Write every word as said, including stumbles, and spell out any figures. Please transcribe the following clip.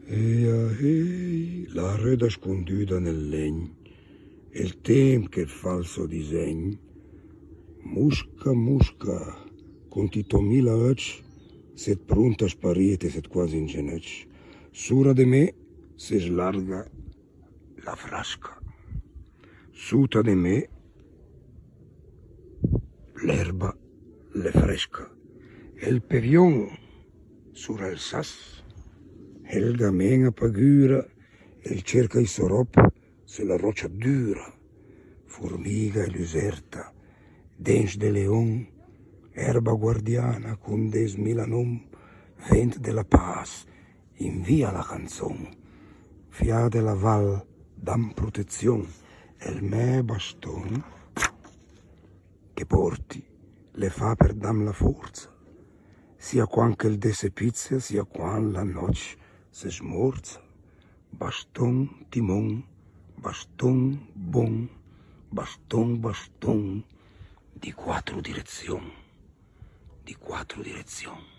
Eia, ei, la reda sconduta nel legno, e il tempo che falso disegno, musca, musca, con titomila occhi, set pronta a sparire, set quasi in genocchio. Sura di me si slarga la frasca, suta di me l'erba le fresca, e il pevion sura il sas, el gamen a pagura, el cerca i sorop se la roccia dura, formiga e luserta, dens de leon, erba guardiana con des milanom, vent de la paz, invia la canzon, fia de la val, dam protezion, el me baston, che porti, le fa per dam la forza, sia quan che il desse pizia, sia quan la noce se smorza. Baston, timon, baston, bon, baston, baston, di quattro direzioni, di quattro direzioni.